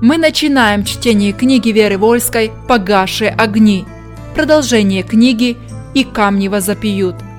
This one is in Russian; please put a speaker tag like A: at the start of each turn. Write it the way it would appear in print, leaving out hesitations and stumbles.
A: Мы начинаем чтение книги Веры Вольской «Погасшие огни». Продолжение книги «И камни возопьют».